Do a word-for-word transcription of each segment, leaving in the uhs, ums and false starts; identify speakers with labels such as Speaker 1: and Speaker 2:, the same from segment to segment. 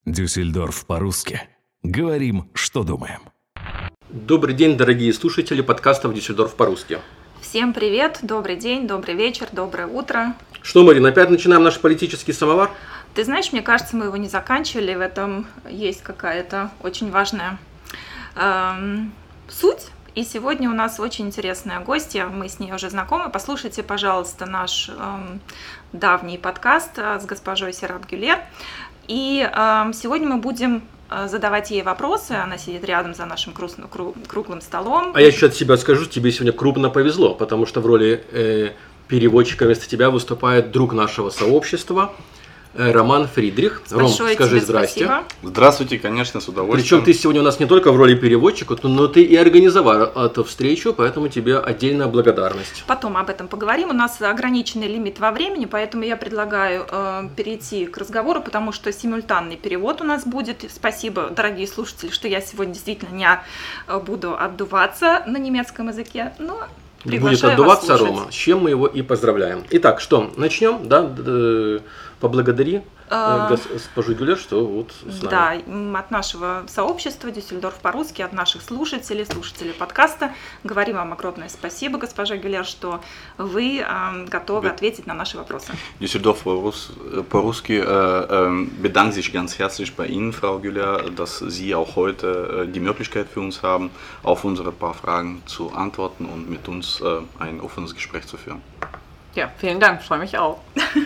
Speaker 1: Дюссельдорф по-русски. Говорим, что думаем.
Speaker 2: Добрый день, дорогие слушатели подкастов «Дюссельдорф по-русски».
Speaker 3: Всем привет, добрый день, добрый вечер, доброе утро.
Speaker 2: Что, Марин, опять начинаем наш политический самовар?
Speaker 3: Ты знаешь, мне кажется, мы его не заканчивали, в этом есть какая-то очень важная эм, суть. И сегодня у нас очень интересная гостья, мы с ней уже знакомы. Послушайте, пожалуйста, наш эм, давний подкаст с госпожой Серап Гюлер. И э, сегодня мы будем задавать ей вопросы. Она сидит рядом за нашим круглым столом.
Speaker 2: А я еще от себя скажу, тебе сегодня крупно повезло, потому что в роли э, переводчика вместо тебя выступает друг нашего сообщества Роман Фридрих.
Speaker 3: Большое
Speaker 2: Ром, скажи
Speaker 3: тебе
Speaker 2: здрасте.
Speaker 3: Спасибо.
Speaker 4: Здравствуйте, конечно, с удовольствием.
Speaker 2: Причем ты сегодня у нас не только в роли переводчика, но ты и организовал эту встречу, поэтому тебе отдельная благодарность.
Speaker 3: Потом об этом поговорим. У нас ограниченный лимит во времени, поэтому я предлагаю э, перейти к разговору, потому что симультанный перевод у нас будет. Спасибо, дорогие слушатели, что я сегодня действительно не буду отдуваться на немецком языке, но
Speaker 2: будет отдуваться Рома, с чем мы его и поздравляем. Итак, что, начнем, да? Поблагодари госпожу Гюлер, что вот с нами.
Speaker 3: Да, от нашего сообщества Дюссельдорф по-русски, от наших слушателей, слушателей подкаста. Говорим вам огромное спасибо, госпожа Гюлер, что вы э, готовы Be- ответить на наши вопросы.
Speaker 4: Düsseldorf по-русски äh, bedankt sich ganz herzlich bei Ihnen, Frau Güller, dass Sie auch heute äh, die Möglichkeit für uns haben, auf unsere paar Fragen zu antworten und mit uns äh, ein offenes Gespräch zu führen.
Speaker 3: Ja, vielen Dank, freue mich auch.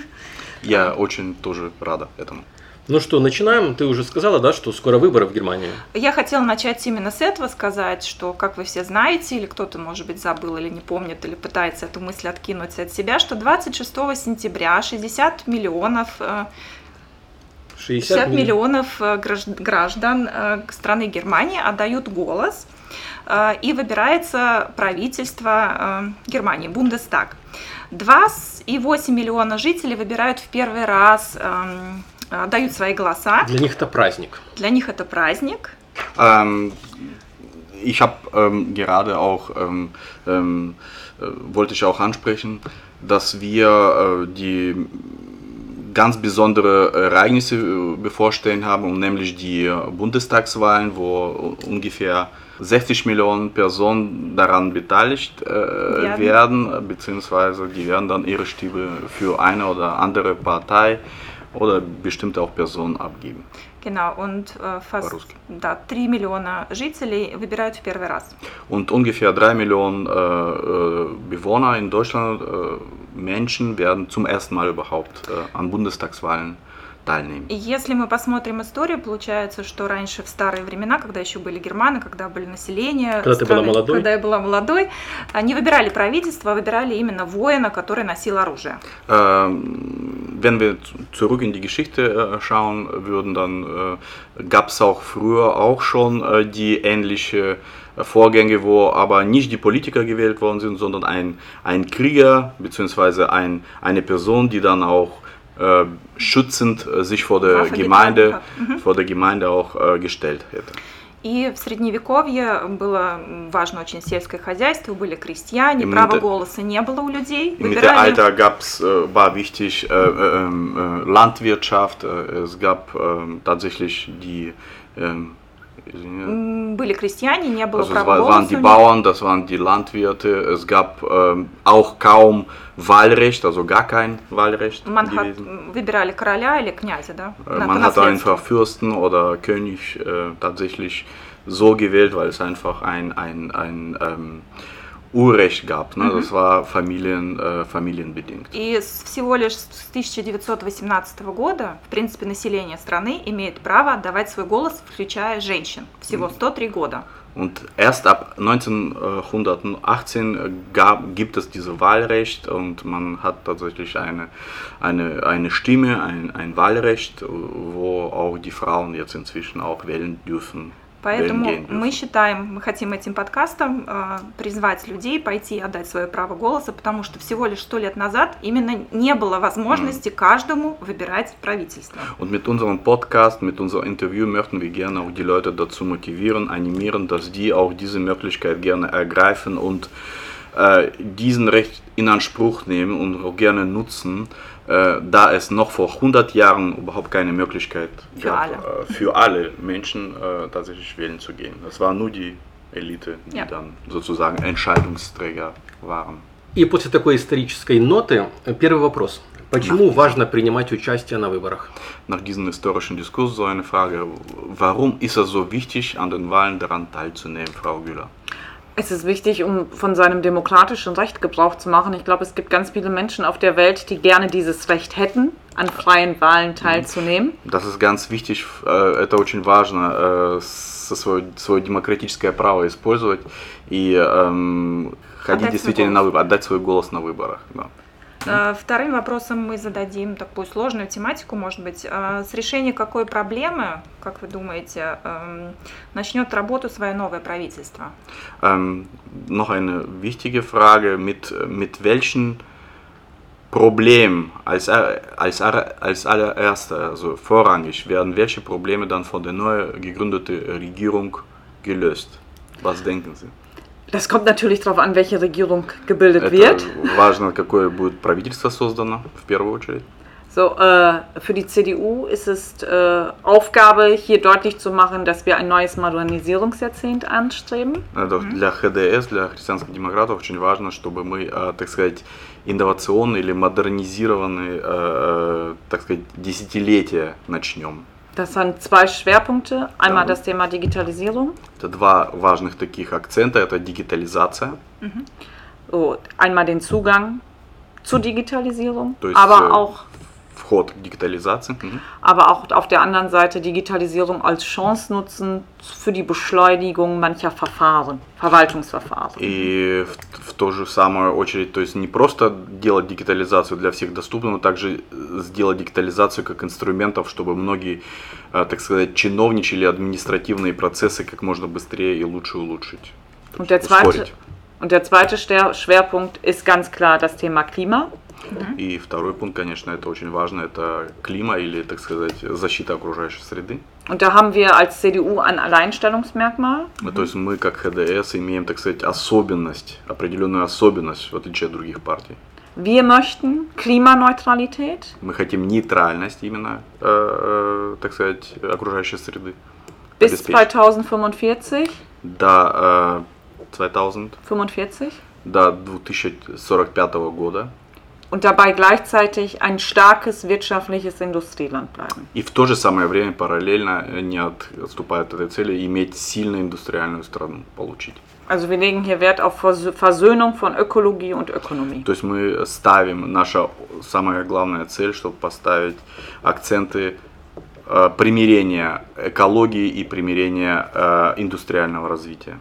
Speaker 4: Я очень тоже рада этому.
Speaker 2: Ну что, начинаем. Ты уже сказала, да, что скоро выборы в Германии?
Speaker 3: Я хотела начать именно с этого, сказать, что, как вы все знаете, или кто-то, может быть, забыл или не помнит, или пытается эту мысль откинуть от себя, что двадцать шестого сентября шестьдесят миллионов... шестьдесят миллионов граждан страны Германии отдают голос, и выбирается правительство Германии, Бундестаг. два и восемь десятых миллиона жителей выбирают в первый раз, отдают свои голоса.
Speaker 2: Для них это праздник.
Speaker 3: Для них это праздник.
Speaker 4: Ähm, ich habe ähm, gerade auch, ähm, ähm, äh, wollte ich auch ansprechen, dass wir äh, die ganz besondere Ereignisse bevorstehen haben, und nämlich die Bundestagswahlen, wo ungefähr sechzig Millionen Personen daran beteiligt äh, werden. werden, beziehungsweise die werden dann ihre Stimme für eine oder andere Partei oder bestimmte auch Personen abgeben.
Speaker 3: Genau, und äh, fast да, три миллиона жителей выбирают в первый раз.
Speaker 4: Und ungefähr drei Millionen äh, Bewohner in Deutschland, äh, Menschen, werden zum ersten Mal überhaupt äh, an Bundestagswahlen teilnehmen.
Speaker 3: Если мы посмотрим историю, получается, что раньше, в старые времена, когда еще были германы, когда были население,
Speaker 2: когда,
Speaker 3: страны,
Speaker 2: ты была молодой?
Speaker 3: когда я была молодой, они выбирали правительство, выбирали именно воина, который носил оружие.
Speaker 4: Äh, wenn wir zurück in die Geschichte äh, schauen würden, dann äh, gab es auch früher auch schon äh, die ähnliche Vorgänge, wo aber nicht die Politiker gewählt worden sind, sondern ein, ein Krieger bzw. ein, eine Person, die dann auch äh, schützend äh, sich vor der Gemeinde, mhm. vor der Gemeinde auch äh, gestellt hätte.
Speaker 3: И в Средневековье было важно очень сельское хозяйство, были крестьяне, права голоса не было у людей.
Speaker 4: Im Mittelalter gab's, äh, war wichtig äh, äh, äh, Landwirtschaft, äh, es gab äh, tatsächlich die äh,
Speaker 3: Были крестьяне, не было
Speaker 4: also
Speaker 3: права
Speaker 4: das
Speaker 3: голоса.
Speaker 4: waren die Bauern, das waren die Landwirte, es gab äh, auch kaum Wahlrecht, also gar kein Wahlrecht.
Speaker 3: Man hat, выбирали короля или князя, да?
Speaker 4: Man hat einfach Fürsten oder König äh, tatsächlich so gewählt, weil es einfach ein, ein, ein ähm, Urrecht gab, ne? Das war Familien, äh, familienbedingt.
Speaker 3: И всего лишь с тысяча девятьсот восемнадцатого года, в принципе, население страны имеет право отдавать свой голос, включая женщин. Всего сто три года.
Speaker 4: Und erst ab neunzehnhundertachtzehn gab, gibt es dieses Wahlrecht und man hat tatsächlich eine, eine, eine Stimme, ein, ein Wahlrecht, wo auch die Frauen jetzt inzwischen auch wählen dürfen.
Speaker 3: Поэтому мы считаем, мы хотим этим подкастом э, призвать людей пойти и отдать свое право голоса, потому что всего лишь сто лет назад именно не было возможности mm. каждому выбирать правительство.
Speaker 4: Und mit unserem Podcast, mit unserem Interview möchten wir gerne auch die Leute dazu motivieren, animieren, dass die auch diese Möglichkeit gerne ergreifen und äh, diesen Recht in Anspruch nehmen und auch gerne nutzen, äh, da es noch vor hundert Jahren überhaupt keine Möglichkeit
Speaker 3: für
Speaker 4: gab,
Speaker 3: alle,
Speaker 4: äh, für alle Menschen äh, tatsächlich wählen zu gehen. Das war nur die Elite, die ja. dann sozusagen Entscheidungsträger waren.
Speaker 2: И после такой исторической ноты первый вопрос. Почему Nach важно принимать участие на выборах?
Speaker 4: Nach diesem historischen Diskurs so eine Frage, warum ist es so wichtig, an den Wahlen daran teilzunehmen, Frau Güler?
Speaker 5: Es ist wichtig, um von seinem demokratischen Recht Gebrauch zu machen. Ich glaube, es gibt ganz viele Menschen auf der Welt, die gerne dieses Recht hätten, an freien Wahlen teilzunehmen.
Speaker 4: Das ist ganz wichtig, это очень важно, свое, свое демократическое право использовать и ходить действительно на выборы, отдать свой голос на выборах. Да.
Speaker 3: Вторым вопросом мы зададим такую сложную тематику, может быть. С решения какой проблемы, как вы думаете, начнет работу свое новое правительство?
Speaker 4: Ähm, noch eine wichtige Frage, mit, mit welchen Problemen als, als, als allererster, also vorrangig, werden welche Probleme dann von der neu gegründeten Regierung gelöst? Was denken Sie?
Speaker 5: Das kommt natürlich darauf an, welche Regierung gebildet wird.
Speaker 4: Важно, какое будет правительство создано, в первую очередь.
Speaker 5: So, äh, für die C D U ist es äh, Aufgabe, hier deutlich zu machen, dass wir ein neues Modernisierungsjahrzehnt anstreben.
Speaker 4: Also для ха дэ эс, для христианских демократов, очень важно, чтобы мы, äh, так сказать, инновационные или модернизированные, äh, так сказать, десятилетия начнем.
Speaker 5: Das sind zwei Schwerpunkte. Einmal das Thema Digitalisierung.
Speaker 4: Это два важных таких акцента. Это digitalisация.
Speaker 5: Mhm. So, einmal den Zugang zur Digitalisierung,
Speaker 4: То есть,
Speaker 5: aber auch
Speaker 4: вход к digitalisации. Mhm.
Speaker 5: Aber auch auf der anderen Seite Digitalisierung als Chance nutzen für die Beschleunigung mancher Verfahren, Verwaltungsverfahren.
Speaker 4: И в, в ту же самую очередь, то есть не просто делать digitalisацию для всех доступно, но также сделать digitalisацию как инструментов, чтобы многие, так сказать, чиновничьи административные процессы как можно быстрее и лучше улучшить.
Speaker 5: Und der zweite, und der zweite Schwerpunkt ist ganz klar das Thema Klima.
Speaker 4: И второй пункт, конечно, это очень важно, это климат или, так сказать, защита окружающей среды.
Speaker 5: Und da haben wir als C D U ein Alleinstellungsmerkmal.
Speaker 4: То есть мы, как ха дэ эс, имеем, так сказать, особенность, определенную особенность, в отличие от других партий.
Speaker 5: Wir möchten Klimaneutralität.
Speaker 4: Мы хотим нейтральность именно, äh, так сказать, окружающей среды.
Speaker 5: Bis zweitausendfünfundvierzig.
Speaker 4: До äh, zweitausendfünfundvierzig. До две тысячи сорок пятого года.
Speaker 5: Und dabei gleichzeitig ein starkes wirtschaftliches Industrieland bleiben.
Speaker 4: И в то же самое время параллельно, не отступая от этой цели, иметь сильную индустриальную страну получить.
Speaker 5: Also wir legen hier Wert auf Versöhnung von Ökologie und Ökonomie.
Speaker 4: То есть мы ставим, наша самая главная цель, чтобы поставить акценты э, примирения экологии и примирения э, индустриального развития.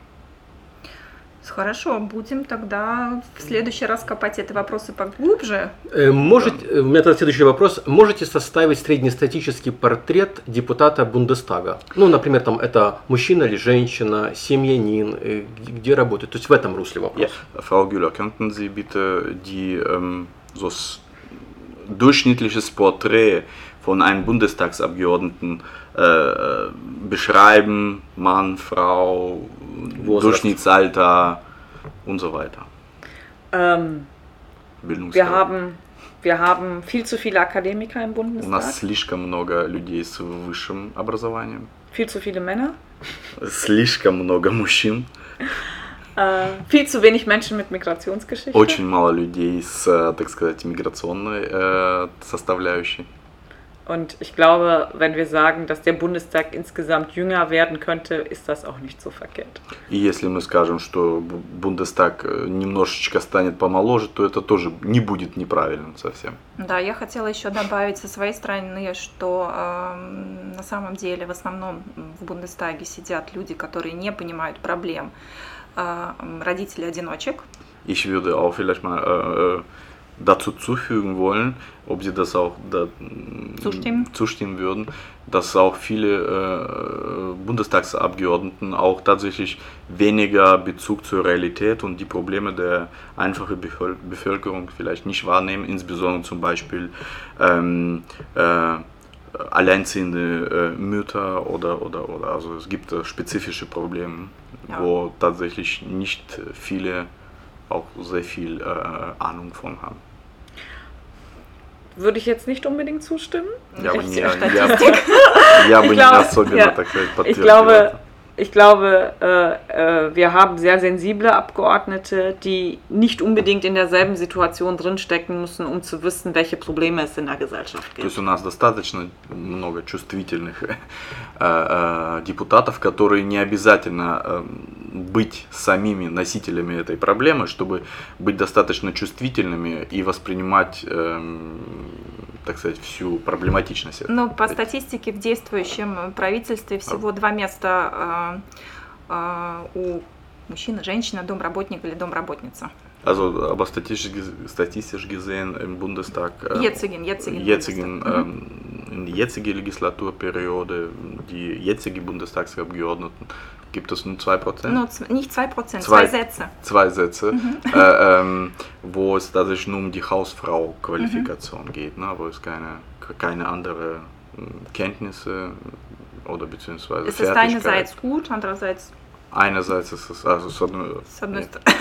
Speaker 3: Хорошо, будем тогда в следующий раз копать эти вопросы поглубже.
Speaker 2: Можете, у меня тогда следующий вопрос. Можете составить среднестатический портрет депутата Бундестага? Ну, например, там это мужчина или женщина, семьянин, где работает? То есть в этом русле вопрос.
Speaker 4: Ja. Frau Güler, könnten Sie bitte die, ähm, so durchschnittliches Porträt von einem Bundestagsabgeordneten äh, beschreiben, Mann, Frau, Durchschnittsalter und so weiter.
Speaker 5: Ähm, wir, haben, wir haben viel zu viele Akademiker im Bundestag.
Speaker 4: У нас слишком много людей с высшим образованием.
Speaker 5: Viel zu viele Männer.
Speaker 4: Слишком много мужчин.
Speaker 5: Äh, viel zu wenig Menschen mit Migrationsgeschichte.
Speaker 4: Очень мало людей с, так сказать, миграционной äh, составляющей.
Speaker 5: Und ich glaube, wenn wir sagen, dass der Bundestag insgesamt jünger werden könnte, ist das auch nicht so verkehrt.
Speaker 4: И если мы скажем, что Бундестаг немножечко станет помоложе, то это тоже не будет неправильным совсем.
Speaker 3: Да, я хотела еще добавить со своей стороны, что э, на самом деле в основном в Бундестаге сидят люди, которые не понимают проблем äh, родителей-одиночек.
Speaker 4: Ich würde auch vielleicht mal äh, dazu zufügen wollen, ob Sie das auch da,
Speaker 3: zustimmen.
Speaker 4: zustimmen würden, dass auch viele äh, Bundestagsabgeordneten auch tatsächlich weniger Bezug zur Realität und die Probleme der einfachen Bevölkerung vielleicht nicht wahrnehmen, insbesondere zum Beispiel ähm, äh, alleinziehende äh, Mütter oder, oder, oder also es gibt äh, spezifische Probleme, ja, wo tatsächlich nicht viele auch sehr viel äh, Ahnung von haben.
Speaker 5: Würde ich jetzt nicht unbedingt zustimmen.
Speaker 4: Ja, aber
Speaker 5: Ich-
Speaker 4: не, я,
Speaker 3: Statistik.
Speaker 4: я бы
Speaker 5: Ich
Speaker 4: не
Speaker 5: glaube,
Speaker 4: особенно,
Speaker 5: ja.
Speaker 4: так сказать,
Speaker 5: Ich
Speaker 4: подтвердил
Speaker 5: glaube,
Speaker 4: это.
Speaker 5: ich glaube äh, äh, wir haben sehr sensible Abgeordnete, die nicht unbedingt in derselben Situation drinstecken müssen, um zu wissen, welche Probleme es in der Gesellschaft
Speaker 4: То
Speaker 5: gibt.
Speaker 4: есть у нас достаточно много чувствительных э, э, депутатов, которые не обязательно э, быть самими носителями этой проблемы, чтобы быть достаточно чувствительными и воспринимать, э, так сказать, всю проблематичность. этого.
Speaker 3: Ну, по статистике в действующем правительстве всего два места э, э, у мужчины, женщины, домработник или домработница.
Speaker 4: Also, aber statistisch, statistisch gesehen im Bundestag, äh,
Speaker 3: Jetzigen, jetzigen
Speaker 4: jetzigen,
Speaker 3: Bundestag.
Speaker 4: ähm, in die jetzige Legislaturperiode, die jetzige Bundestagsabgeordneten, gibt es nur zwei Prozent.
Speaker 3: Ну, ц- nicht zwei Prozent,
Speaker 4: Zwei.
Speaker 3: zwei Sätze.
Speaker 4: Zwei Sätze, äh, ähm, wo es tatsächlich nur um die Hausfrau-Qualifikation geht, ne, wo es keine, keine andere ähm, Kenntnisse oder beziehungsweise
Speaker 3: Es ist
Speaker 4: Fertigkeit.
Speaker 3: einerseits gut, andererseits
Speaker 4: Einerseits ist es also so eine,
Speaker 3: с одной
Speaker 4: ja.
Speaker 3: стороны.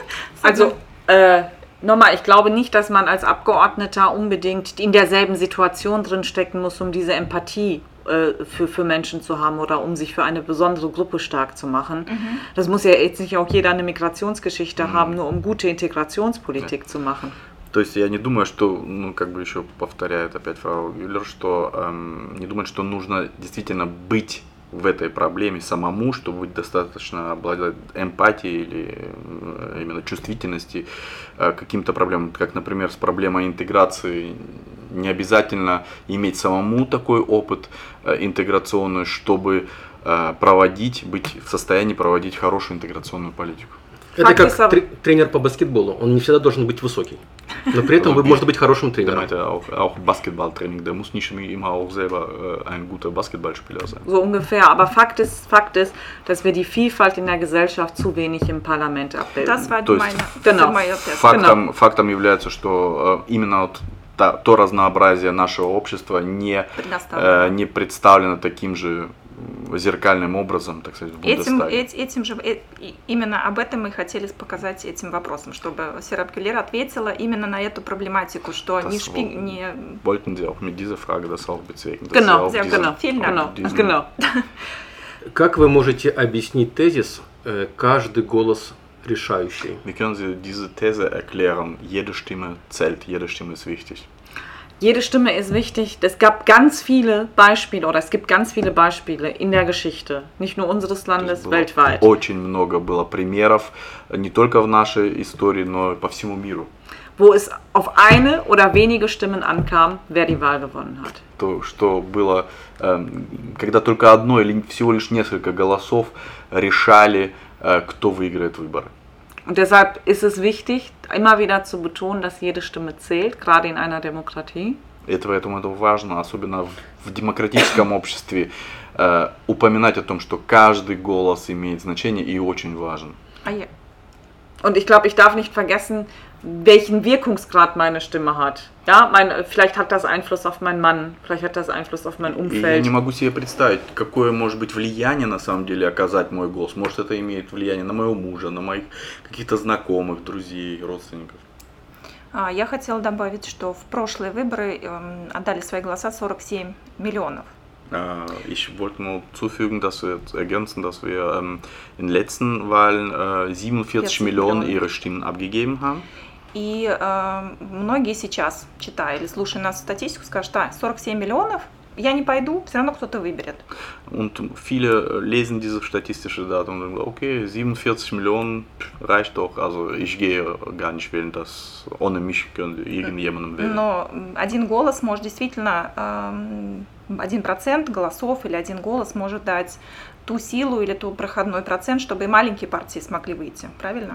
Speaker 5: Also, äh, nochmal, ich glaube nicht, dass man als Abgeordneter unbedingt in derselben Situation drinstecken muss, um diese Empathie äh, für, für Menschen zu haben oder um sich für eine besondere Gruppe stark zu machen. Das muss ja jetzt nicht auch jeder eine Migrationsgeschichte haben, nur um gute Integrationspolitik zu machen.
Speaker 4: То есть я не думаю, что, ну, как бы еще повторяет опять фрау Юллер, что эм, не думаю, что нужно действительно быть в этой проблеме самому, чтобы быть достаточно обладать эмпатией или э, именно чувствительности э, к каким-то проблемам, как, например, с проблемой интеграции. Не обязательно иметь самому такой опыт э, интеграционный, чтобы э, проводить, быть в состоянии проводить хорошую интеграционную политику.
Speaker 2: Это
Speaker 5: Факт
Speaker 2: как
Speaker 5: ist aber-
Speaker 2: тре- тренер по баскетболу. Он не всегда должен быть высокий. Но при этом вы можете быть хорошим
Speaker 4: Der
Speaker 2: тренером.
Speaker 4: meinte auch, auch Basketballtraining, der muss nicht immer auch selber äh, ein guter Basketballspieler sein.
Speaker 5: So ungefähr. Aber Fakt ist, Fakt ist, dass wir die Vielfalt in der Gesellschaft zu wenig im Parlament abbilden.
Speaker 3: Das war
Speaker 4: То есть-
Speaker 3: meine,
Speaker 5: Genau.
Speaker 3: mein Test.
Speaker 4: Фактом, фактом является, что э, именно вот та- то разнообразие нашего общества не,
Speaker 3: Предоставлено.
Speaker 4: э, не представлено таким же м, зеркальным образом, так сказать, в
Speaker 3: Этим,
Speaker 4: Бундестаге.
Speaker 3: эт- этим же, э- и- именно об этом мы хотели показать этим вопросом, чтобы Серап Келлер ответила именно на эту проблематику, что
Speaker 4: Das
Speaker 3: не, шпи,
Speaker 4: wo-
Speaker 3: не
Speaker 4: Wollten Sie auch mit dieser Frage das auch bezwecken? dass
Speaker 5: Genau,
Speaker 4: Sie auch
Speaker 3: sehr
Speaker 4: diesen-
Speaker 5: genau,
Speaker 3: Vielen Dank.
Speaker 5: genau,
Speaker 4: diesen-
Speaker 5: genau.
Speaker 2: Как вы можете объяснить тезис э, «каждый голос решающий»?
Speaker 4: Wie können Sie diese These erklären? Jede Stimme zählt, jede Stimme ist wichtig.
Speaker 5: Jede Stimme ist wichtig. Es gab ganz viele Beispiele oder es gibt ganz viele Beispiele in der Geschichte, nicht nur unseres
Speaker 4: То есть
Speaker 5: Landes,
Speaker 4: было
Speaker 5: weltweit,
Speaker 4: Очень много было примеров, не только в нашей истории, но и по всему миру.
Speaker 5: wo es auf eine oder wenige Stimmen ankam, wer die Wahl gewonnen hat.
Speaker 4: То, что было, эм, когда только одно или всего лишь несколько голосов решали, э, кто выиграет выборы.
Speaker 5: Und deshalb ist es wichtig, immer wieder zu betonen, dass jede Stimme zählt, gerade in einer Demokratie.
Speaker 4: И это, поэтому это важно, особенно в, в демократическом обществе, э, упоминать о том, что каждый голос имеет значение и очень важен.
Speaker 3: А я-
Speaker 5: Und ich glaube, ich darf nicht vergessen, welchen Wirkungsgrad meine Stimme hat. Ja, mein, vielleicht hat das Einfluss auf meinen Mann, vielleicht hat das Einfluss auf mein
Speaker 4: И я
Speaker 5: Umfeld.
Speaker 4: не могу себе представить, какое может быть влияние на самом деле оказать мой голос. Может, это имеет влияние на моего мужа, на моих каких-то знакомых, друзей, родственников.
Speaker 3: А, Я хотела добавить, что в прошлые выборы эм, отдали свои голоса сорок семь миллионов.
Speaker 4: Äh, Ich wollte nur zufügen, dass wir ergänzen, dass wir ähm, in den letzten Wahlen äh, siebenundvierzig
Speaker 3: vierzig
Speaker 4: Millionen
Speaker 3: Millionen.
Speaker 4: ihre Stimmen abgegeben haben.
Speaker 3: И э, многие сейчас, читая или слушая нас статистику, скажут, а, сорок семь миллионов, я не пойду, все равно кто-то выберет.
Speaker 4: Und viele lesen diese statistische Daten und sagen, okay, siebenundvierzig Millionen reicht doch, also ich gehe gar nicht wählen, das ohne mich könnte irgendjemandem wählen.
Speaker 3: Но м, один голос может действительно, эм, один процент голосов или один голос может дать ту силу или ту проходной процент, чтобы и маленькие партии смогли выйти, правильно?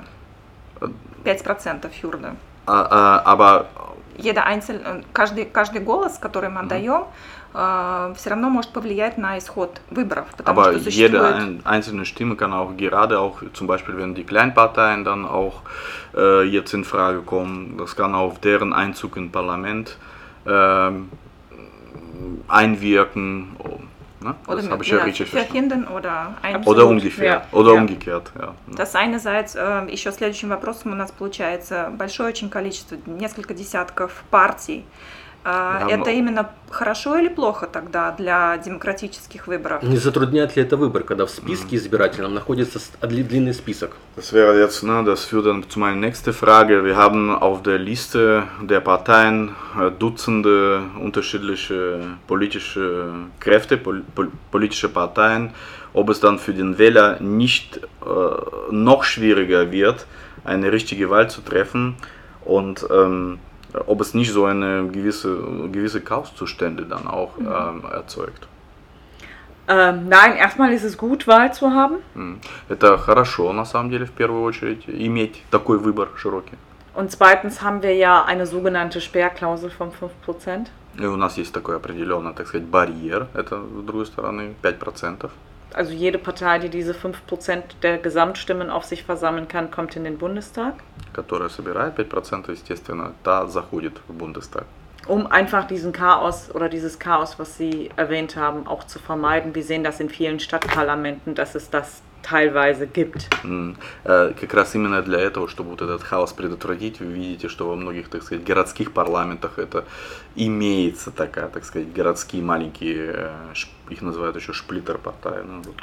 Speaker 3: пять процентов Фюрда.
Speaker 4: А- а- aber
Speaker 3: Еда Айнцель, э, каждый, каждый голос, который мы отдаем, все равно может повлиять на исход выборов, потому
Speaker 4: Aber
Speaker 3: что
Speaker 4: jede
Speaker 3: существует...
Speaker 4: ein, einzelne Stimme kann auch gerade auch, zum Beispiel wenn die Kleinparteien dann auch äh, jetzt in Frage kommen, das kann auf deren Einzug im Parlament ähm, einwirken, Ne?
Speaker 3: Oder,
Speaker 4: Das habe ich
Speaker 3: ja,
Speaker 4: ja richtig verstanden.
Speaker 3: verhindern oder ein
Speaker 4: Oder umgekehrt.
Speaker 5: Ja.
Speaker 4: Oder
Speaker 5: Ja.
Speaker 4: umgekehrt, ja.
Speaker 3: Das einerseits, э, еще следующим вопросом у нас получается большое очень количество, несколько десятков партий. Э,
Speaker 4: Да,
Speaker 3: Это
Speaker 4: но-
Speaker 3: именно хорошо или плохо тогда для демократических выборов?
Speaker 2: Не затрудняет ли это выбор, когда в списке избирательном находится с- дли- длинный список?
Speaker 4: Das wäre jetzt, ne, das führt dann zu meiner nächsten Frage. Wir haben auf der Liste der Parteien äh, Dutzende unterschiedliche politische Kräfte, pol pol politische Parteien. Ob es dann für den Wähler nicht äh, noch schwieriger wird, eine richtige Wahl zu treffen und ähm, ob es nicht so eine gewisse, gewisse Chaoszustände dann auch ähm, erzeugt.
Speaker 5: Ähm, nein, erstmal ist es gut, Wahl zu haben.
Speaker 4: М. Это хорошо, на самом деле, в первую очередь, иметь такой выбор широкий.
Speaker 5: Und zweitens haben wir ja eine sogenannte Sperrklausel von fünf Prozent.
Speaker 4: И у нас есть такой определенный, так сказать, барьер, это, с другой стороны, пять процентов.
Speaker 5: Also jede Partei, die diese fünf Prozent der Gesamtstimmen auf sich versammeln kann, kommt in den Bundestag,
Speaker 4: Которая собирает пять процентов, естественно, та заходит в Бундестаг.
Speaker 5: um einfach diesen Chaos oder dieses Chaos, was Sie erwähnt haben, auch zu vermeiden. Wir sehen das in vielen Stadtparlamenten, dass es das teilweise gibt.
Speaker 4: М. Э, Как раз именно для этого, чтобы вот этот хаос предотвратить, вы видите, что во многих, так сказать, городских парламентах это имеется такая, так сказать, городские маленькие, э, ш- их называют еще шплиттер-партии. Ну, вот,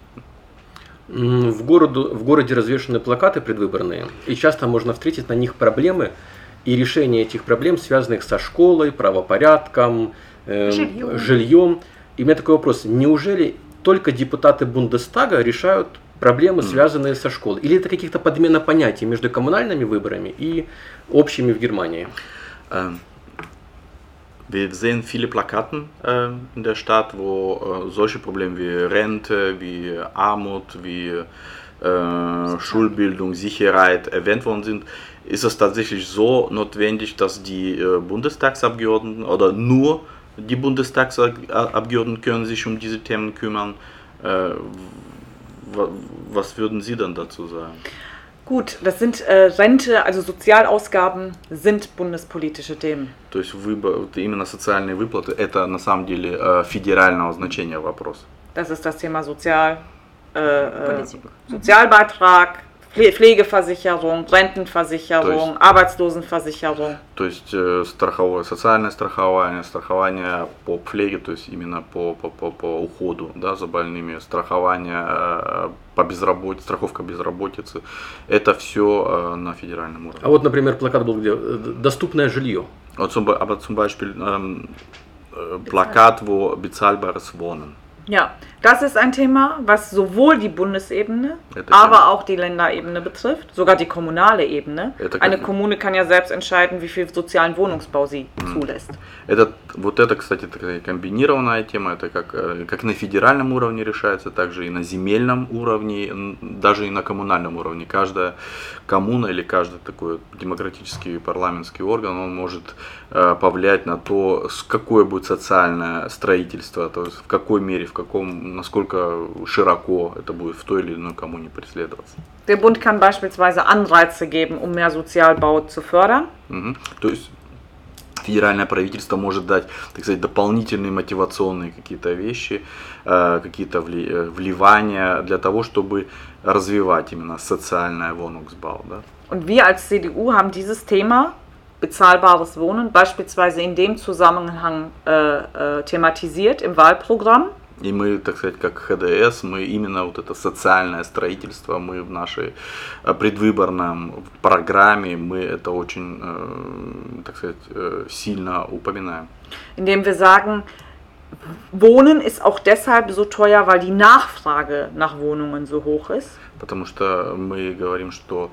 Speaker 2: М, В, городу, в городе развешаны плакаты предвыборные, и часто можно встретить на них проблемы и решение этих проблем, связанных со школой, правопорядком, э,
Speaker 3: Жильем.
Speaker 2: жильем. И у меня такой вопрос, неужели только депутаты Бундестага решают проблемы, связанные со школой? Или это каких-то подмена понятий между коммунальными выборами и общими в Германии?
Speaker 4: Ähm, Wir sehen viele Plakaten äh, in der Stadt, wo äh, solche Probleme wie Rente, wie Armut, wie äh, Schulbildung, Sicherheit erwähnt worden sind. Ist es tatsächlich so notwendig, dass die äh, Bundestagsabgeordneten oder nur die Bundestagsabgeordneten können sich um diese Themen kümmern? Äh, wa- was würden Sie dann dazu sagen?
Speaker 5: Gut, das sind äh, Rente, also Sozialausgaben sind bundespolitische Themen.
Speaker 4: То есть выбор, вот именно социальные выплаты, это на самом деле э, федерального значения вопрос.
Speaker 5: Das ist das Thema Sozial, äh, äh,
Speaker 3: Politik.
Speaker 5: Sozialbeitrag, Pfle- Pflegeversicherung, Rentenversicherung,
Speaker 4: То
Speaker 5: Arbeitslosenversicherung.
Speaker 4: То есть э, страховое, социальное страхование, страхование по пфлеге, то есть именно по, по, по, по уходу, да, за больными, страхование э, по безработице, страховка безработицы, это все э, на федеральном уровне.
Speaker 2: А вот, например, плакат был где? Э, Доступное жилье.
Speaker 4: Вот zum, Be- aber zum Beispiel ähm, äh, Plakat, wo bezahlbares Wohnen.
Speaker 5: Ja, das ist ein Thema, was sowohl die Bundesebene,
Speaker 4: Ja, das
Speaker 5: aber
Speaker 4: kann-
Speaker 5: auch die Länderebene betrifft, sogar die kommunale Ebene.
Speaker 4: Ja, das
Speaker 5: Eine
Speaker 4: kann-
Speaker 5: Kommune kann ja selbst entscheiden, wie viel sozialen Wohnungsbau sie zulässt.
Speaker 4: Это, вот это, кстати, такая комбинированная тема, это как, э, как на федеральном уровне решается, также и на земельном уровне, н- даже и на коммунальном уровне. Каждая коммуна или каждый такой демократический парламентский орган, он может э, повлиять на то, с какое будет социальное строительство, то есть в какой мере, в каком, насколько широко это будет в той или иной коммуне преследоваться.
Speaker 5: Der Bund kann beispielsweise Anreize geben, um mehr Sozialbau zu fördern.
Speaker 4: Мгм. То есть федеральное правительство может дать, так сказать, дополнительные мотивационные какие-то вещи, э, какие-то вли- э, вливания для того, чтобы развивать именно социальное Wohnungsbau. Да?
Speaker 5: Und wir als C D U haben dieses Thema bezahlbares Wohnen beispielsweise in dem Zusammenhang äh, äh, thematisiert im Wahlprogramm.
Speaker 4: И мы, так сказать, как Х Д С, мы именно вот это социальное строительство, мы в нашей э, предвыборном программе, мы это очень, э, так сказать, э, сильно упоминаем.
Speaker 5: Indem wir sagen, Wohnen ist auch deshalb so teuer, weil die Nachfrage nach Wohnungen so hoch ist.
Speaker 4: Потому что мы говорим, что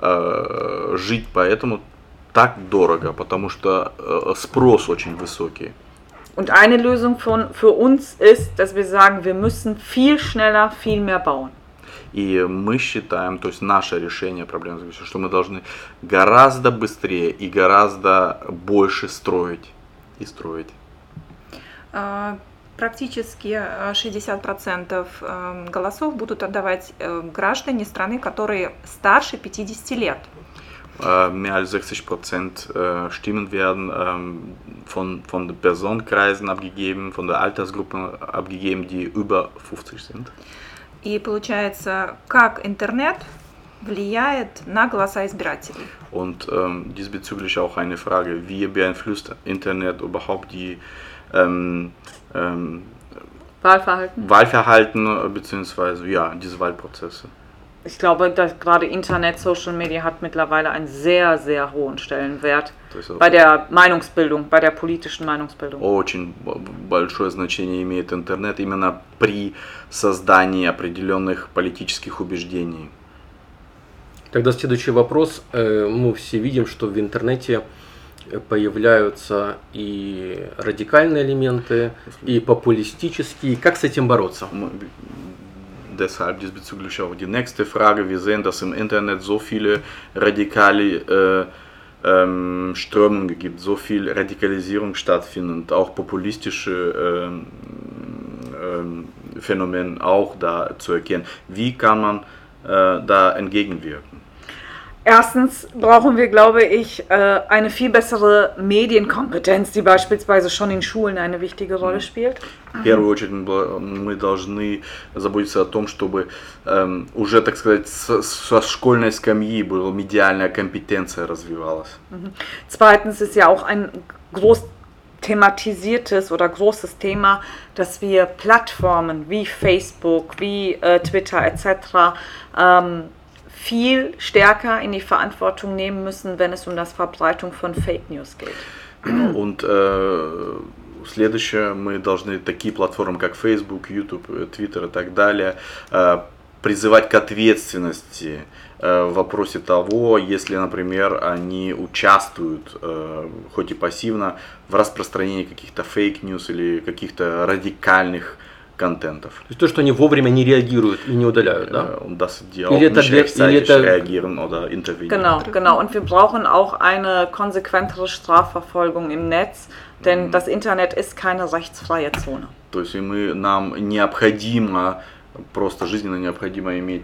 Speaker 4: э, жить поэтому так дорого, потому что э, спрос очень высокий.
Speaker 5: Und eine Lösung von, für uns ist, dass wir sagen, wir müssen viel schneller, viel mehr bauen.
Speaker 4: И мы считаем, то есть наше решение проблемы заключается, что мы должны гораздо быстрее и гораздо больше строить и строить.
Speaker 3: Э, Практически э, шестьдесят процентов э, голосов будут отдавать э, граждане страны, которые старше пятидесяти лет.
Speaker 4: äh, mehr als sechzig Prozent äh, Stimmen werden ähm, von, von den Personenkreisen abgegeben, von der Altersgruppe abgegeben, die über fünfzig sind.
Speaker 3: И получается, как интернет влияет на голоса избирателей?
Speaker 4: Und ähm, diesbezüglich auch eine Frage, wie beeinflusst Internet überhaupt die ähm, ähm,
Speaker 5: Wahlverhalten?
Speaker 4: Wahlverhalten bzw. ja, diese Wahlprozesse?
Speaker 5: Ich glaube, dass gerade Internet, Social Media hat mittlerweile einen sehr, sehr hohen Stellenwert bei der Meinungsbildung, bei der politischen Meinungsbildung.
Speaker 4: Очень большое значение имеет интернет именно при создании определенных политических убеждений.
Speaker 2: Тогда следующий вопрос. Мы все видим, что в интернете появляются и радикальные элементы, и популистические. Как с этим бороться?
Speaker 4: Deshalb diesbezüglich auch die nächste Frage. Wir sehen, dass im Internet so viele radikale äh, ähm, Strömungen gibt, so viel Radikalisierung stattfindet, auch populistische ähm, ähm, Phänomene auch da zu erkennen. Wie kann man äh, da entgegenwirken?
Speaker 5: Erstens brauchen wir, glaube ich, eine viel bessere Medienkompetenz, die beispielsweise schon in Schulen eine wichtige Rolle spielt.
Speaker 4: В первую очередь мы должны заботиться о том, чтобы ähm, уже, так сказать, со школьной скамьи была медиальная компетенция развивалась.
Speaker 5: Zweitens ist ja auch ein groß thematisiertes oder großes Thema, dass wir Plattformen wie Facebook, wie äh, Twitter et cetera ähm, viel stärker in die Verantwortung nehmen müssen, wenn es um das Verbreitung von Fake News geht.
Speaker 4: Und äh, следующее, мы должны такие платформы, как Facebook, YouTube, Twitter и так далее, э, призывать к ответственности э, в вопросе того, если, например, они участвуют, э, хоть и пассивно, в распространении каких-то фейк-ньюс или каких-то радикальных контентов.
Speaker 2: То есть то, что они вовремя не реагируют и не удаляют, да?
Speaker 4: Und dass die
Speaker 2: Или
Speaker 4: auch
Speaker 2: это,
Speaker 4: nicht
Speaker 2: для, или
Speaker 4: rechtzeitig
Speaker 2: это...
Speaker 4: reagieren oder intervenieren.
Speaker 5: Genau, genau. Und wir brauchen auch eine konsequentere Strafverfolgung im Netz, denn das Internet ist keine rechtsfreie Zone.
Speaker 4: То есть мы, нам необходимо, просто жизненно необходимо иметь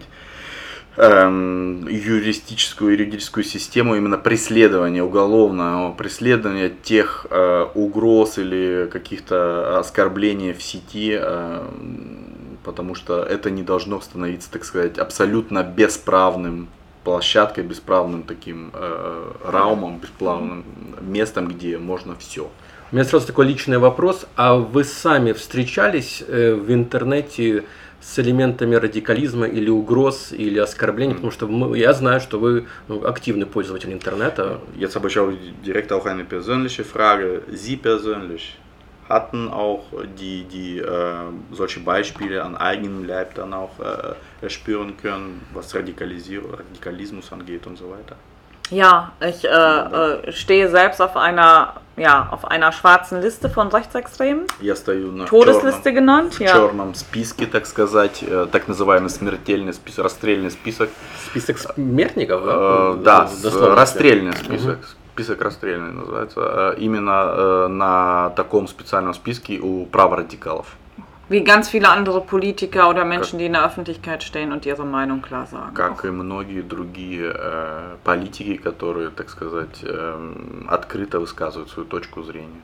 Speaker 4: эм, юристическую, юридическую систему именно преследования, уголовного преследования тех э, угроз или каких-то оскорблений в сети, э, потому что это не должно становиться, так сказать, абсолютно бесправным площадкой, бесправным таким э, раумом, бесправным местом, где можно все.
Speaker 2: У меня сразу такой личный вопрос. А вы сами встречались э, в интернете с элементами радикализма или угроз, или оскорблений? Потому что мы, я знаю, что вы ну, активный пользователь интернета.
Speaker 4: Jetzt habe ich auch direkt auch eine persönliche Frage. Sie persönlich hatten auch die, die äh, solche Beispiele an eigenem Leib dann auch äh, erspüren können, was Radikalisierung, Radikalismus angeht und so weiter?
Speaker 5: Ja, ich äh, äh, stehe selbst auf einer, ja, auf einer schwarzen Liste von Rechtsextremen.
Speaker 4: Я стою на
Speaker 5: Todesliste
Speaker 4: черном,
Speaker 5: genannt, ja.
Speaker 4: черном списке, так сказать, э, так называемый смертельный список, расстрельный список.
Speaker 2: Список смертников, да?
Speaker 4: Э, да,
Speaker 2: Дословно.
Speaker 4: расстрельный список. Угу. Список расстрельный называется. Именно э, на таком специальном списке у праворадикалов.
Speaker 5: Wie ganz viele andere Politiker oder Menschen, die in der Öffentlichkeit stehen und ihre Meinung klar sagen.
Speaker 4: Как и многие другие э, политики, которые, так сказать, э, открыто высказывают свою точку зрения.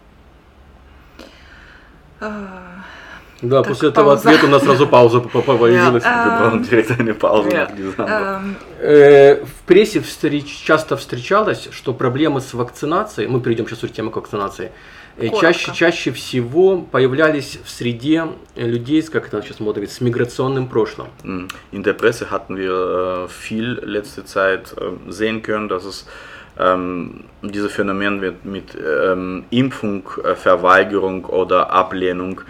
Speaker 2: Да, так, после этого ответа у нас сразу пауза появилась.
Speaker 4: Директная пауза.
Speaker 2: В прессе встреч, часто встречалось, что проблемы с вакцинацией, мы перейдем сейчас к теме вакцинации, чаще, чаще всего появлялись в среде людей, как это сейчас модно говорить, с миграционным прошлым.
Speaker 4: In der Presse hatten wir viel letzte Zeit sehen können, dass es ähm, dieses Phänomen mit, mit ähm, Impfung, Verweigerung oder Ablehnung,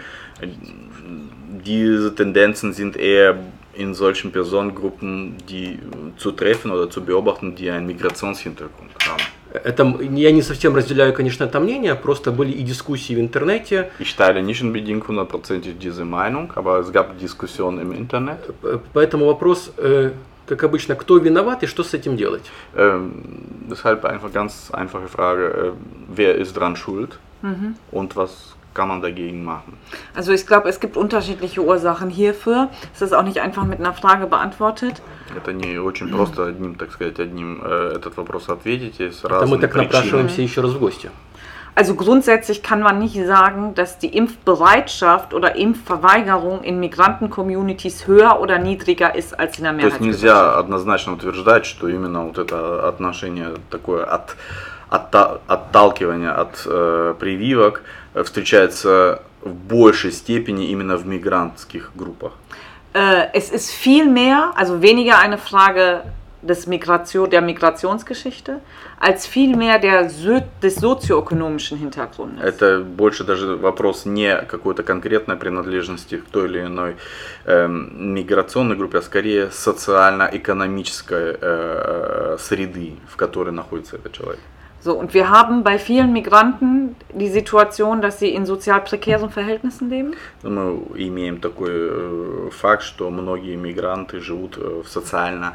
Speaker 4: diese Tendenzen sind eher in solchen Personengruppen, die zu treffen oder zu beobachten, die einen Migrationshintergrund haben.
Speaker 2: Это, я не совсем разделяю, конечно, это мнение, просто были и дискуссии в интернете.
Speaker 4: Ich teile nicht unbedingt hundertprozentig diese Meinung, aber es gab Diskussionen im Internet.
Speaker 2: Поэтому вопрос, как обычно, кто виноват и что с этим делать?
Speaker 4: Ähm, deshalb einfach ganz einfache Frage, wer ist dran schuld mhm. und was kann man dagegen machen?
Speaker 5: Also ich glaube, es gibt unterschiedliche Ursachen hierfür. Es ist auch nicht einfach mit einer Frage beantwortet.
Speaker 4: Это не очень просто одним, так сказать, одним э, этот вопрос ответить. Есть
Speaker 2: Это мы
Speaker 4: разные
Speaker 2: так
Speaker 4: причины.
Speaker 2: напрашиваемся еще раз в гости.
Speaker 5: Also grundsätzlich kann man nicht sagen, dass die Impfbereitschaft oder Impfverweigerung in Migranten-Communities höher oder niedriger ist als in der
Speaker 4: То есть
Speaker 5: Mehrheitsgesellschaft.
Speaker 4: нельзя однозначно утверждать, что именно вот это отношение такое от, от, отталкивание от э, прививок встречается в большей степени именно в мигрантских группах.
Speaker 5: Äh, es ist viel mehr, also weniger eine Frage des Migration, der Migrationsgeschichte, als vielmehr der, so, des sozioökonomischen Hintergrundes.
Speaker 4: Это больше даже вопрос не какой-то конкретной принадлежности к той или иной э, миграционной группе, а скорее социально-экономической э, среды, в которой находится этот человек.
Speaker 5: So, und wir haben bei vielen Migranten die Situation, dass sie in sozial prekären Verhältnissen leben.
Speaker 4: Мы имеем такой э, факт, что многие мигранты живут э, в социально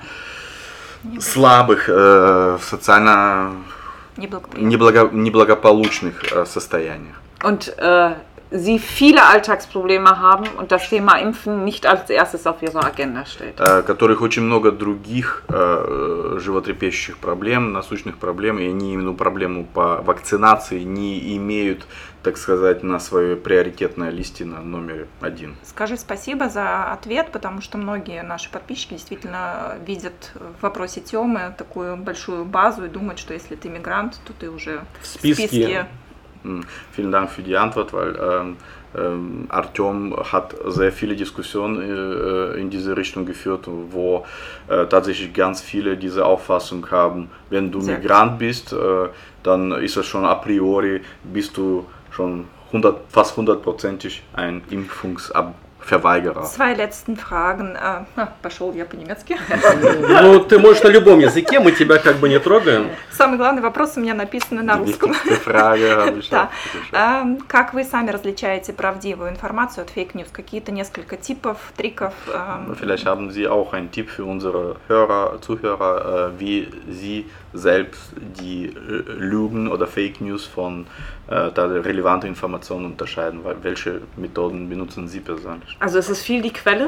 Speaker 4: слабых, э, в социально неблаго, неблагополучных э, состояниях.
Speaker 5: Und äh, sie viele Alltagsprobleme haben und das Thema Impfen nicht als erstes auf ihrer Agenda steht.
Speaker 4: Э, которых очень много других э, животрепещущих проблем, насущных проблем, и они именно проблему по вакцинации не имеют, так сказать, на своей приоритетной листе на номер один.
Speaker 3: Скажи спасибо за ответ, потому что многие наши подписчики действительно видят в вопросе Тёмы такую большую базу и думают, что если ты мигрант, то ты уже
Speaker 2: в списке.
Speaker 3: В списке.
Speaker 4: Vielen Dank für die Antwort, weil ähm, ähm, Artyom hat sehr viele Diskussionen äh, in diese Richtung geführt, wo äh, tatsächlich ganz viele diese Auffassung haben, wenn du sehr Migrant bist, äh, dann ist es schon a priori, bist du schon hundert, fast hundertprozentig ein Impfungsverweigerer.
Speaker 3: Zwei letzten Fragen. А, пошел я по-немецки.
Speaker 2: Ну, ты можешь на любом языке, мы тебя как бы не трогаем.
Speaker 3: Самый главный вопрос у меня написаны на русском. Да. Как вы сами различаете правдивую информацию от фейк-ньюс? Какие-то несколько типов, триков?
Speaker 4: Vielleicht haben Sie auch einen Tipp für unsere Hörer, Zuhörer, wie Sie selbst die Lügen oder Fake-News von relevanten Informationen unterscheiden. Welche Methoden benutzen Sie persönlich?
Speaker 5: Also es ist viel die Quelle.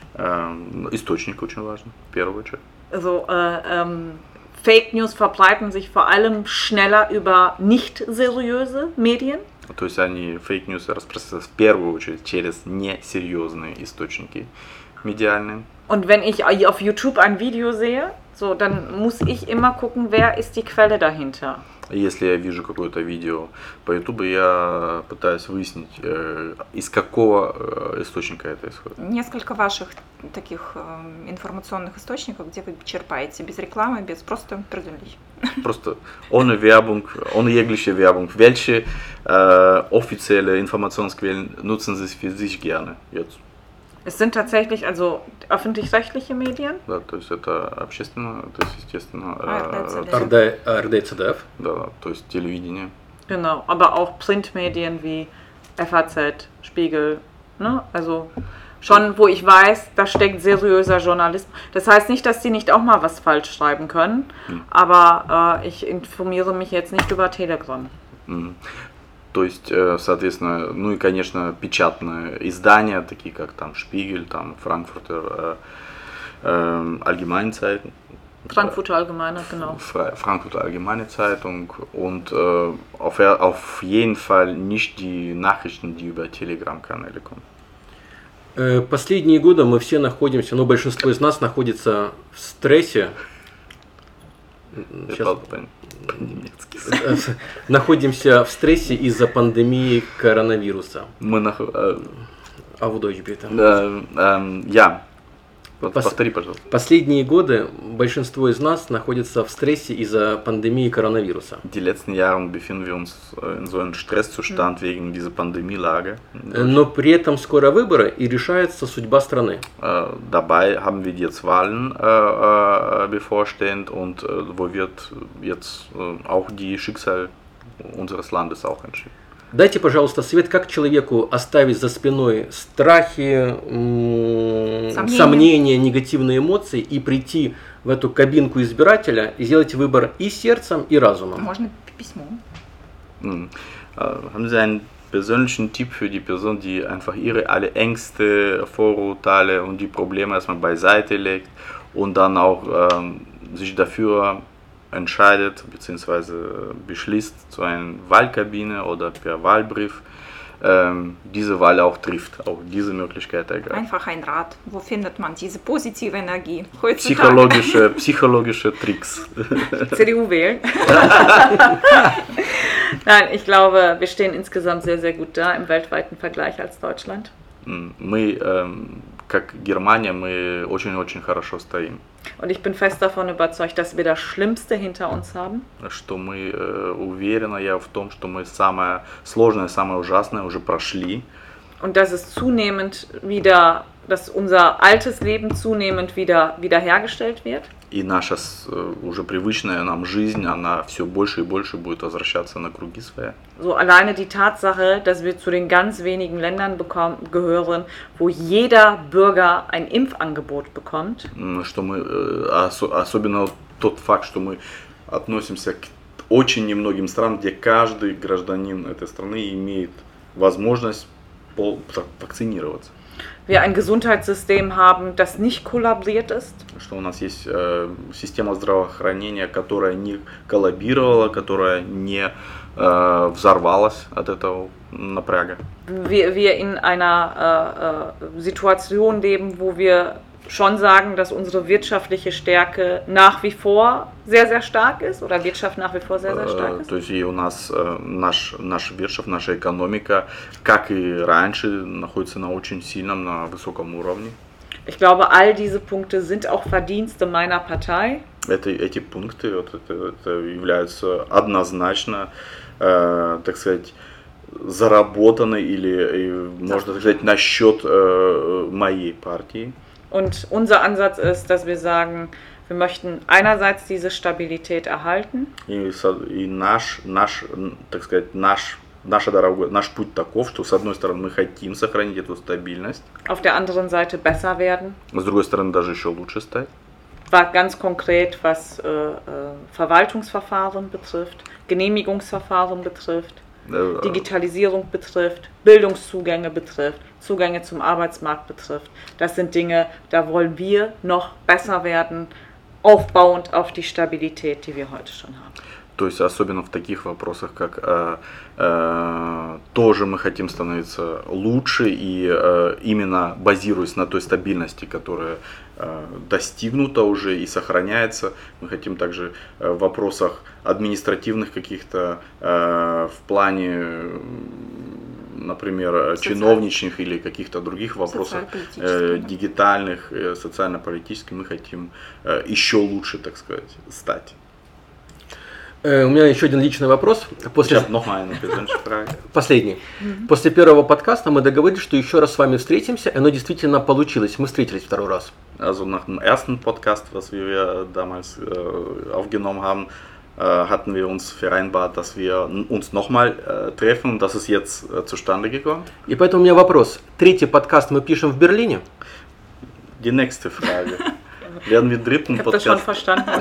Speaker 4: Ähm, Источник очень важен, в первую очередь.
Speaker 5: Also äh, ähm, Fake News verbreiten sich vor allem schneller über nicht seriöse Medien.
Speaker 4: То есть они Fake News распространяются в первую очередь через несерьезные источники медиальные.
Speaker 5: Und wenn ich auf YouTube ein Video sehe, so, dann muss ich immer gucken, wer ist die Quelle dahinter.
Speaker 4: Если я вижу какое-то видео по YouTube, я пытаюсь выяснить, э, из какого э, источника это исходит.
Speaker 3: Несколько ваших таких э, информационных источников, где вы черпаете без рекламы, без просто persönlich.
Speaker 4: Просто ohne Werbung, ohne jegliche Werbung. Welche äh, offizielle Informationsquellen nutzen Sie für sich gerne jetzt?
Speaker 5: Es sind tatsächlich also öffentlich-rechtliche Medien.
Speaker 4: Да, то есть это общественно, то есть естественно.
Speaker 2: эр дэ цэ дэ эф.
Speaker 4: Да, то есть телевидение.
Speaker 5: Genau, aber auch Printmedien wie F A Z, Spiegel, ne? Also schon, wo ich weiß, da steckt seriöser Journalismus. Das heißt nicht, dass die nicht auch mal was falsch schreiben können, hm. aber äh, ich informiere mich jetzt nicht über Telegram.
Speaker 4: Hm. То есть, соответственно, ну и, конечно, печатные издания, такие как там Spiegel, там Frankfurter äh, Allgemeine Zeitung.
Speaker 5: Frankfurter Allgemeine, genau.
Speaker 4: Frankfurter Allgemeine Zeitung und äh, auf, auf jeden Fall nicht die Nachrichten, die über Telegram-Каналы kommen.
Speaker 2: Последние годы мы все находимся, ну большинство из нас находится в стрессе. Сейчас... Находимся в стрессе из-за пандемии коронавируса.
Speaker 4: Мы нах...
Speaker 2: А в Deutsch bitte.
Speaker 4: Я. Повтори, пожалуйста.
Speaker 2: Последние годы большинство из нас находится в стрессе из-за пандемии коронавируса.
Speaker 4: Die letzten Jahre befinden wir uns in so einem Stresszustand wegen dieser Pandemielage.
Speaker 2: Но при этом скоро выборы и решается судьба страны.
Speaker 4: Dabei haben wir jetzt Wahlen äh, bevorstehend und äh, wo wird jetzt äh, auch die Schicksal unseres Landes auch entschieden.
Speaker 2: Дайте, пожалуйста, совет, как человеку оставить за спиной страхи, сомнения. сомнения, негативные эмоции и прийти в эту кабинку избирателя и сделать выбор и сердцем, и разумом.
Speaker 3: Можно письмо.
Speaker 4: Hm. Haben Sie einen persönlichen Tipp für die Person, die einfach ihre alle Ängste, Vorurteile und die Probleme erstmal beiseite legt und dann auch ähm, sich dafür entscheidet bzw. beschließt, zu einer Wahlkabine oder per Wahlbrief ähm, diese Wahl auch trifft, auch diese Möglichkeit ergreift.
Speaker 3: Einfach ein Rat. Wo findet man diese positive Energie heutzutage?
Speaker 4: Psychologische, psychologische Tricks.
Speaker 5: C D U wählen. Nein, ich glaube, wir stehen insgesamt sehr, sehr gut da im weltweiten Vergleich als Deutschland.
Speaker 4: Мы, ähm, как Германия, мы очень-очень хорошо стоим.
Speaker 5: Und ich bin fest davon überzeugt, dass wir das Schlimmste hinter uns haben.
Speaker 4: Что мы э, уверены я в том, что мы самое сложное, самое ужасное уже прошли.
Speaker 5: Und dass es zunehmend wieder, dass unser altes Leben zunehmend wieder wiederhergestellt wird.
Speaker 4: И наша э, уже привычная нам жизнь, она все больше и больше будет возвращаться на круги своя.
Speaker 5: So alleine die Tatsache, dass wir zu den ganz wenigen Ländern bekommen, gehören, wo jeder Bürger ein Impfangebot bekommt.
Speaker 4: Что мы, э, ос- особенно тот факт, что мы относимся к очень немногим странам, где каждый гражданин этой страны имеет возможность пол- вакцинироваться.
Speaker 5: Wir ein Gesundheitssystem haben, das nicht kollabiert ist.
Speaker 4: Что у нас есть э, система здравоохранения, которая не коллабировала, которая не э, взорвалась от этого напряга.
Speaker 5: Wir, wir in einer äh, äh, Situation leben, wo wir schon sagen, dass unsere wirtschaftliche Stärke nach wie vor sehr, sehr stark ist oder Wirtschaft nach wie vor sehr, sehr stark
Speaker 4: Э,
Speaker 5: ist.
Speaker 4: То есть и у нас э, наш, наша Wirtschaft, наша экономика, как и раньше, находится на очень сильном, на высоком уровне.
Speaker 5: Ich glaube, all diese Punkte sind auch Verdienste meiner Partei.
Speaker 4: Это, эти пункты вот, это, это являются однозначно, э, так сказать, заработаны или, э, можно так сказать, на счет э, моей партии.
Speaker 5: Und unser Ansatz ist, dass wir sagen, wir möchten einerseits diese Stabilität erhalten.
Speaker 4: И, со- и наш, наш, м, так сказать, наш, наша дорога, наш путь таков, что с одной стороны мы хотим сохранить эту стабильность,
Speaker 5: Auf der anderen Seite besser werden.
Speaker 4: с другой стороны даже еще лучше стать.
Speaker 5: War ganz konkret, was äh, äh, Verwaltungsverfahren betrifft, Genehmigungsverfahren betrifft,
Speaker 4: Э,
Speaker 5: Digitalisierung betrifft, Bildungszugänge betrifft, Zugänge zum Arbeitsmarkt betrifft. Das sind Dinge, da wollen wir noch besser werden, aufbauend auf die Stabilität, die wir heute schon haben.
Speaker 4: То есть особенно в таких вопросах, как э, э, тоже мы хотим становиться лучше и э, именно базируясь на той стабильности, которая э, достигнута уже и сохраняется, мы хотим также э, в вопросах административных каких-то э, в плане, э, например,
Speaker 3: Социаль-
Speaker 4: чиновничных или каких-то других вопросах
Speaker 3: Социально-политических,
Speaker 4: э,
Speaker 3: да.
Speaker 4: дигитальных, э, социально-политических, мы хотим э, еще лучше, так сказать, стать.
Speaker 2: Э, У меня еще один личный вопрос. После...
Speaker 4: Сейчас noch mal eine persönliche Frage.
Speaker 2: Последний. После первого подкаста мы договорились, что еще раз с вами встретимся, и оно действительно получилось. Мы встретились второй раз.
Speaker 4: Also nach dem ersten Podcast, was wir damals äh, aufgenommen haben, äh, hatten wir uns vereinbart, dass wir uns nochmal äh, treffen. Und das ist jetzt äh, zustande gekommen.
Speaker 2: И поэтому у меня вопрос. Третий подкаст мы пишем в Берлине?
Speaker 4: Die nächste Frage. Werden wir dritten
Speaker 5: Ich habe das schon
Speaker 4: Podcast
Speaker 5: verstanden.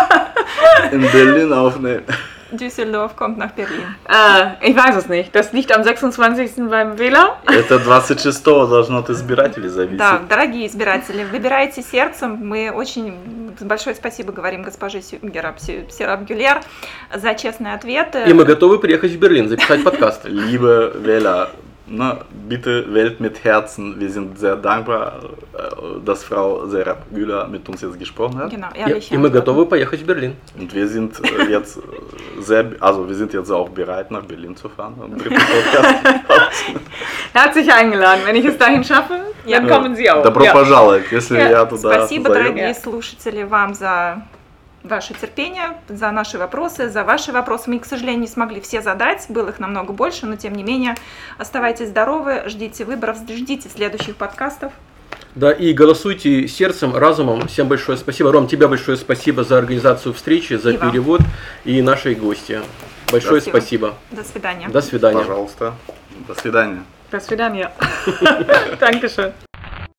Speaker 4: in Berlin aufnehmen?
Speaker 3: Düsseldorf kommt nach Berlin.
Speaker 5: Äh, ich weiß es nicht. Das liegt am sechsundzwanzigsten beim Wähler.
Speaker 4: Это двадцать шестого должно от избирателей зависеть.
Speaker 3: Да, дорогие избиратели, выбирайте сердцем. Мы очень большое спасибо говорим госпоже Сюнгера Серап Гюлер за честные ответы.
Speaker 2: И мы готовы приехать в Берлин, записать подкаст.
Speaker 4: Liebe Wähler, na, bitte wählt mit Herzen. Wir sind sehr dankbar, äh, dass Frau Serap Güler mit uns jetzt gesprochen hat.
Speaker 3: Genau,
Speaker 2: И,
Speaker 3: ehrliche
Speaker 2: и мы
Speaker 3: Antworten.
Speaker 2: готовы поехать в Берлин.
Speaker 4: Und wir sind äh, jetzt äh, sehr, also wir sind jetzt auch bereit, nach Berlin zu fahren. Am dritten Podcast.
Speaker 5: Herzlich eingeladen. Wenn ich es dahin schaffe, dann
Speaker 3: Ja.
Speaker 5: kommen Sie auch.
Speaker 4: Добро
Speaker 5: Ja.
Speaker 4: пожаловать, если я туда
Speaker 3: Спасибо,
Speaker 4: позову.
Speaker 3: дорогие слушатели, вам за ваше терпение, за наши вопросы, за ваши вопросы. Мы, к сожалению, не смогли все задать, было их намного больше, но тем не менее, оставайтесь здоровы, ждите выборов, ждите следующих подкастов.
Speaker 2: Да, и голосуйте сердцем, разумом. Всем большое спасибо. Ром, тебе большое спасибо за организацию встречи, за
Speaker 3: И вам.
Speaker 2: перевод и нашей гости. Большое
Speaker 3: Спасибо.
Speaker 2: спасибо.
Speaker 3: До свидания.
Speaker 2: До свидания.
Speaker 4: Пожалуйста. До свидания.
Speaker 5: До свидания. Dankeschön.